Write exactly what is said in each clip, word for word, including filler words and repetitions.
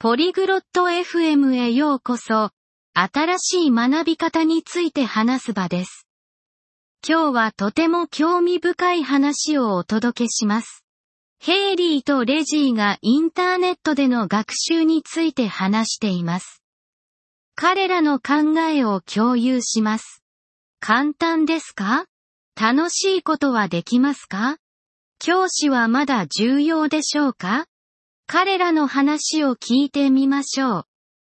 ポリグロット エフエム へようこそ。新しい学び方について話す場です。今日はとても興味深い話をお届けします。ヘイリーとレジーがインターネットでの学習について話しています。彼らの考えを共有します。簡単ですか？楽しいことはできますか？教師はまだ重要でしょうか？彼らの話を聞いてみましょう。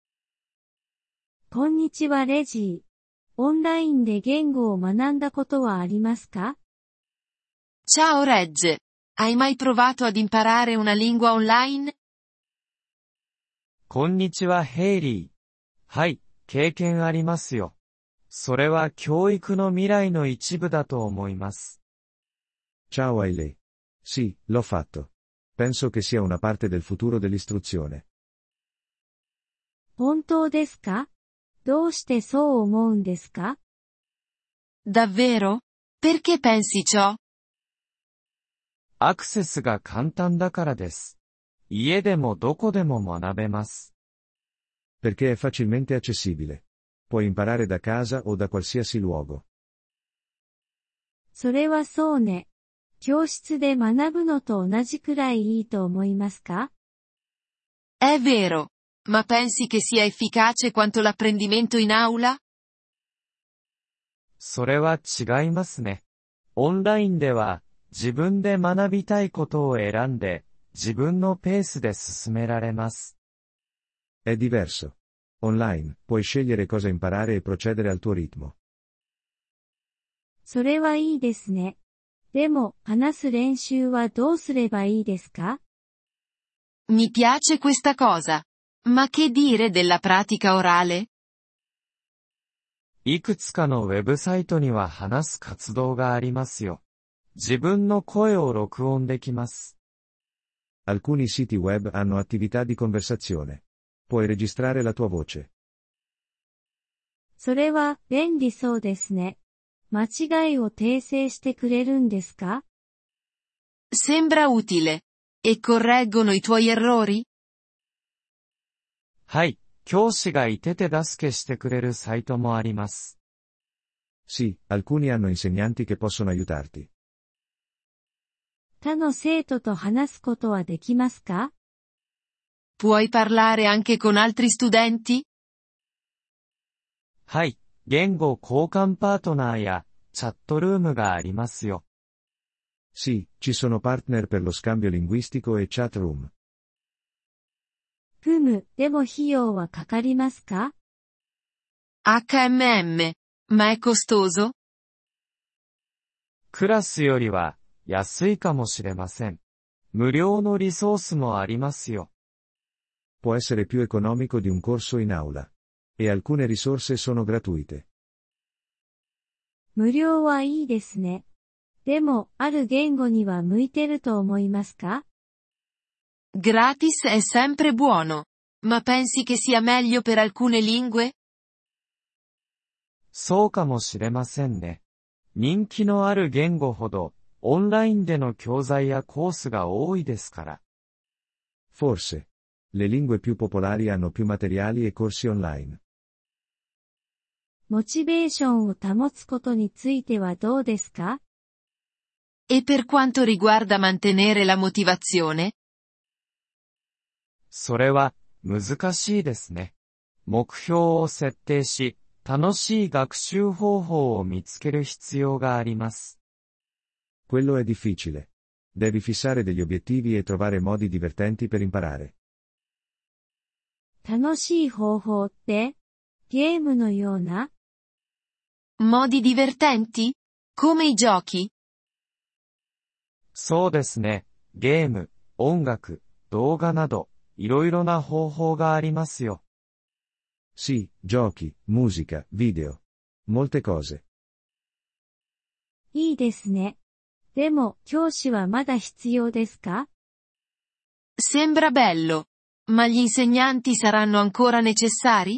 こんにちはレジー。オンラインで言語を学んだことはありますか？ Ciao Reg. Hai mai provato ad imparare una lingua online? こんにちはヘイリー。はい、経験ありますよ。それは教育の未来の一部だと思います。 Ciao Hailey. Sì, l'ho fatto. Penso che sia una parte del futuro dell'istruzione. 本当ですか？どうしてそう思うんですか？ Davvero? Perché pensi ciò? アクセスが簡単だからです。家でもどこでも学べます。 Perché è facilmente accessibile. Puoi imparare da casa o da qualsiasi luogo. それはそうね。教室で学ぶのと同じくらいいいと思いますか？ È vero. Ma pensi che sia efficace quanto l'apprendimento in aula? それは違いますね。オンラインでは自分で学びたいことを選んで自分のペースで進められます。 È diverso. Online, puoi scegliere cosa imparare e procedere al tuo ritmo. それはいいですね。でも、話す練習はどうすればいいですか？ Mi piace questa cosa. Ma che dire della pratica orale? いくつかのウェブサイトには話す活動がありますよ。自分の声を録音できます。 Alcuni siti web hanno attività di conversazione. Puoi registrare la tua voce. それは便利そうですね。間違いを訂正してくれるんですか？ Sembra utile. E correggono i tuoi errori? はい、教師がいて手助けしてくれるサイトもあります。 Sì, alcuni hanno insegnanti che possono aiutarti. 他の生徒と話すことはできますか？ Puoi parlare anche con altri studenti? はい、言語交換パートナーやチャットルームがありますよ。 Sì, ci sono partner per lo scambio linguistico e chat room. ふむ、でも費用はかかりますか？ エイチエムエム. Ma è costoso? クラスよりは安いかもしれません。無料のリソースもありますよ。 Può essere più economico di un corso in aula. E alcune risorse sono gratuite. 無料はいいですね。でも、ある言語には向いてると思いますか？ Gratis è sempre buono. Ma pensi che sia meglio per alcune lingue? そうかもしれませんね。人気のある言語ほど、オンラインでの教材やコースが多いですから。 Forse. Le lingue più popolari hanno più materiali e corsi online. モチベーションを保つことについてはどうですか？ E per quanto riguarda mantenere la motivazione? それは、難しいですね。目標を設定し、楽しい学習方法を見つける必要があります。 Quello è difficile. Devi fissare degli obiettivi e trovare modi divertenti per imparare. 楽しい方法って、ゲームのような？ Modi divertenti? Come i giochi? そうですね。ゲーム、音楽、動画など、いろいろな方法がありますよ。 Sì, giochi, musica, video. Molte cose. いいですね。でも、教師はまだ必要ですか？ Sembra bello. Ma gli insegnanti saranno ancora necessari?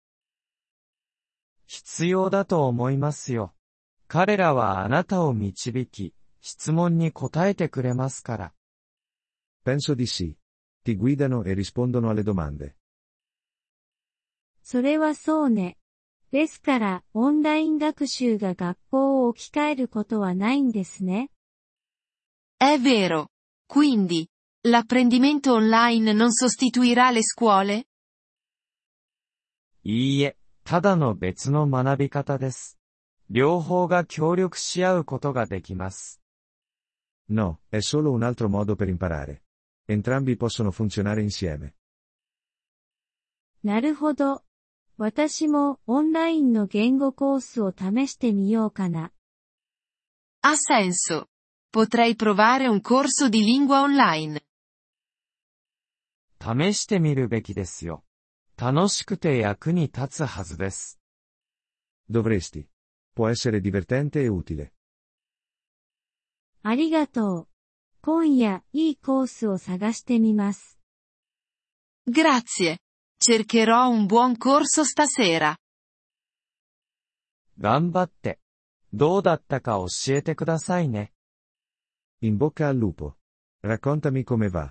必要だと思いますよ。彼らはあなたを導き、質問に答えてくれますから。 Penso di sì. Ti guidano e rispondono alle domande. それはそうね。ですから、オンライン学習が学校を置き換えることはないんですね。 È vero. Quindi, l'apprendimento online non sostituirà le scuole? いいえ、ただの別の学び方です。両方が協力し合うことができます。 No, è solo un altro modo per imparare. Entrambi possono funzionare insieme. なるほど。私もオンラインの言語コースを試してみようかな。 Ha senso. Potrei provare un corso di lingua online. 試してみるべきですよ。楽しくて役に立つはずです。 Dovresti. Può essere divertente e utile. ありがとう。今夜、いいコースを探してみます。 Grazie. Cercherò un buon corso stasera. 頑張って。どうだったか教えてくださいね。 In bocca al lupo. Raccontami come va.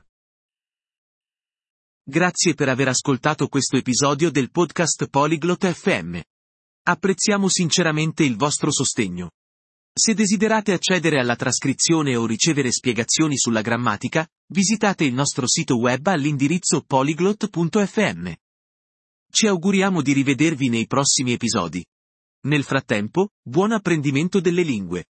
Grazie per aver ascoltato questo episodio del podcast Polyglot F M. Apprezziamo sinceramente il vostro sostegno. Se desiderate accedere alla trascrizione o ricevere spiegazioni sulla grammatica, visitate il nostro sito web all'indirizzo polyglot punto f m. Ci auguriamo di rivedervi nei prossimi episodi. Nel frattempo, buon apprendimento delle lingue.